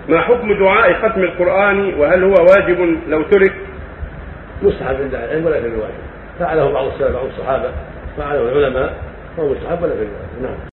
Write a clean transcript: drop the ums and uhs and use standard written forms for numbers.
ما حكم دعاء ختم القرآن وهل هو واجب لو ترك؟ مستحب عند العلم ولا في الواجب، فعله بعض السلف بعض الصحابة، فعله العلماء وهو مستحب ولا في الواجب. نعم.